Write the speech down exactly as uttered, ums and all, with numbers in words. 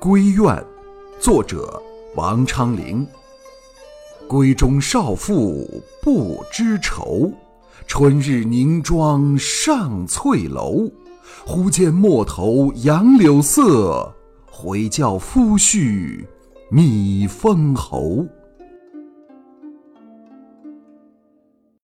闺怨，作者王昌龄。闺中少妇不知愁，春日凝妆上翠楼。忽见陌头杨柳色，回教夫婿觅封侯。